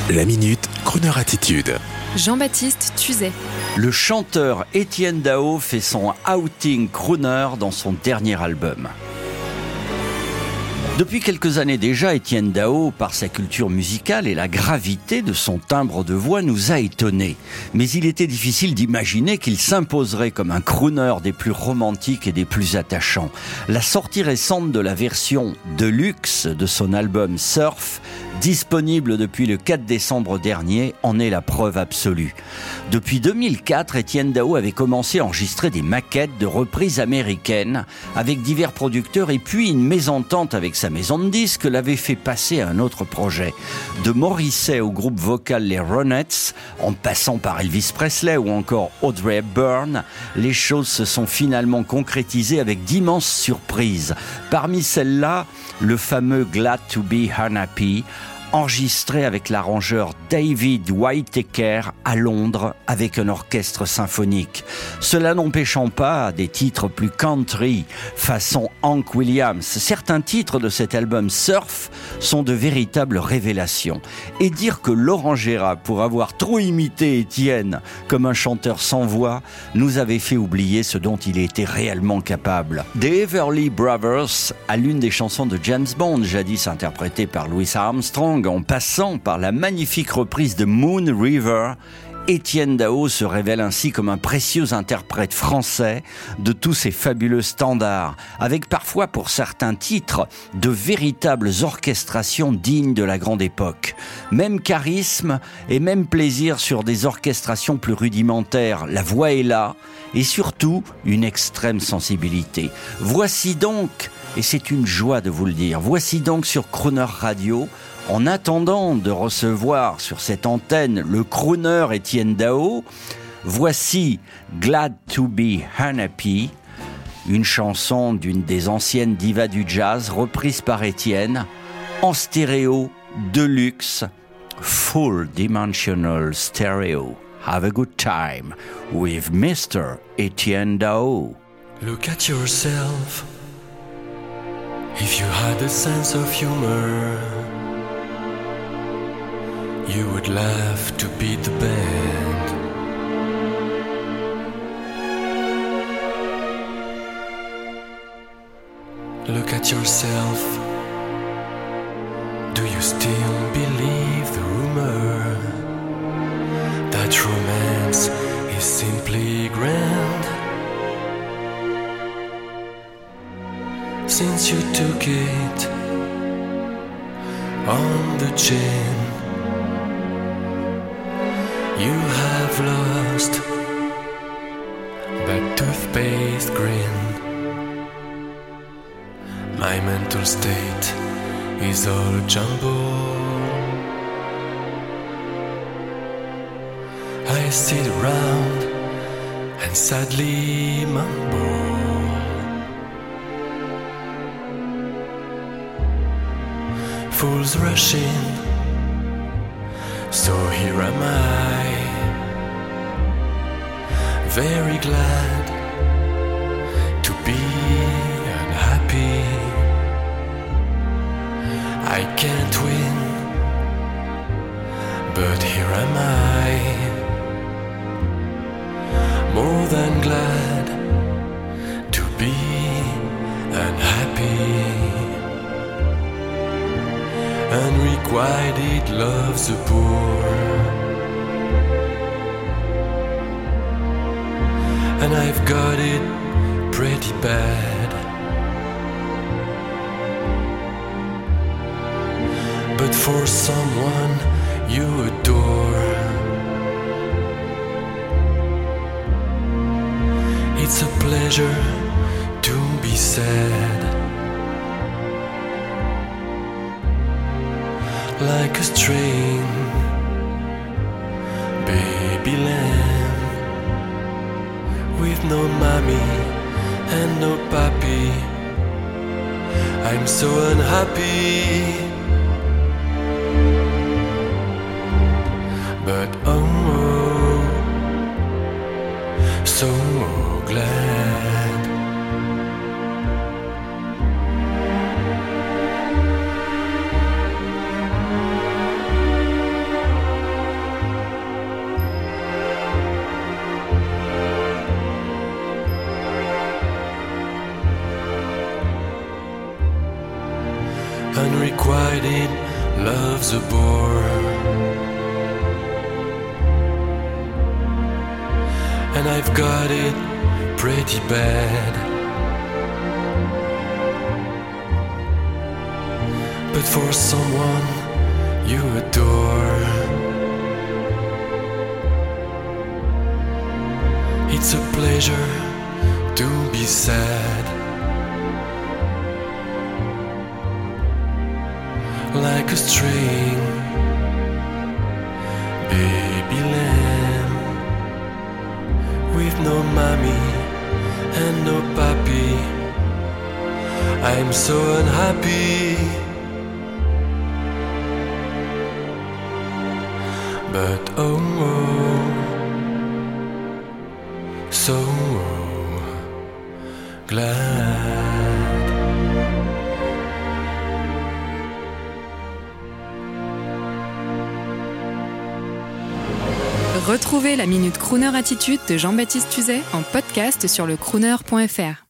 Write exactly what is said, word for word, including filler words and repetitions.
La Minute, Crooner Attitude. Jean-Baptiste Tuzet. Le chanteur Étienne Dao fait son outing crooner dans son dernier album. Depuis quelques années déjà, Étienne Dao, par sa culture musicale et la gravité de son timbre de voix, nous a étonnés. Mais il était difficile d'imaginer qu'il s'imposerait comme un crooner des plus romantiques et des plus attachants. La sortie récente de la version deluxe de son album Surf, disponible depuis le quatre décembre dernier, en est la preuve absolue. Depuis deux mille quatre, Étienne Dao avait commencé à enregistrer des maquettes de reprises américaines avec divers producteurs et puis une mésentente avec sa maison de disques l'avait fait passer à un autre projet. De Morrissey au groupe vocal les Ronettes, en passant par Elvis Presley ou encore Audrey Hepburn, les choses se sont finalement concrétisées avec d'immenses surprises. Parmi celles-là, le fameux Glad to be Unhappy, enregistré avec l'arrangeur David Whittaker à Londres avec un orchestre symphonique. Cela n'empêchant pas des titres plus country, façon Hank Williams. Certains titres de cet album Surf sont de véritables révélations. Et dire que Laurent Gérard, pour avoir trop imité Étienne comme un chanteur sans voix, nous avait fait oublier ce dont il était réellement capable. The Everly Brothers à l'une des chansons de James Bond, jadis interprétée par Louis Armstrong, en passant par la magnifique reprise de Moon River, Étienne Dao se révèle ainsi comme un précieux interprète français de tous ces fabuleux standards, avec parfois pour certains titres de véritables orchestrations dignes de la grande époque. Même charisme et même plaisir sur des orchestrations plus rudimentaires, la voix est là, et surtout une extrême sensibilité. Voici donc, et c'est une joie de vous le dire, voici donc sur Crooner Radio, en attendant de recevoir sur cette antenne le crooner Étienne Dao, voici Glad to be Unhappy, une chanson d'une des anciennes divas du jazz reprise par Étienne, en stéréo, deluxe, full dimensional stereo. Have a good time with Mister Étienne Dao. Look at yourself. If you had a sense of humor, you would laugh to beat the band. Look at yourself. Do you still believe the rumor that romance is simply grand? Since you took it on the chin, you have lost that toothpaste grin. My mental state is all a jumble. I sit around and sadly mumble. Fools rush in, so here am I, very glad to be unhappy. I can't win, but here am I, more than glad to be unhappy. Unrequited love's the poor, and I've got it pretty bad. But for someone you adore, it's a pleasure to be sad. Like a string, baby lamb, with no mommy and no papi, I'm so unhappy. But oh, so glad. unrequited love's a bore. And I've got it pretty bad. But for someone you adore, it's a pleasure to be sad. Like a string, baby lamb, with no mommy and no papi. I'm so unhappy, but oh, oh so oh, glad. Retrouvez la Minute Crooner Attitude de Jean-Baptiste Tuzet en podcast sur le crooner point f r.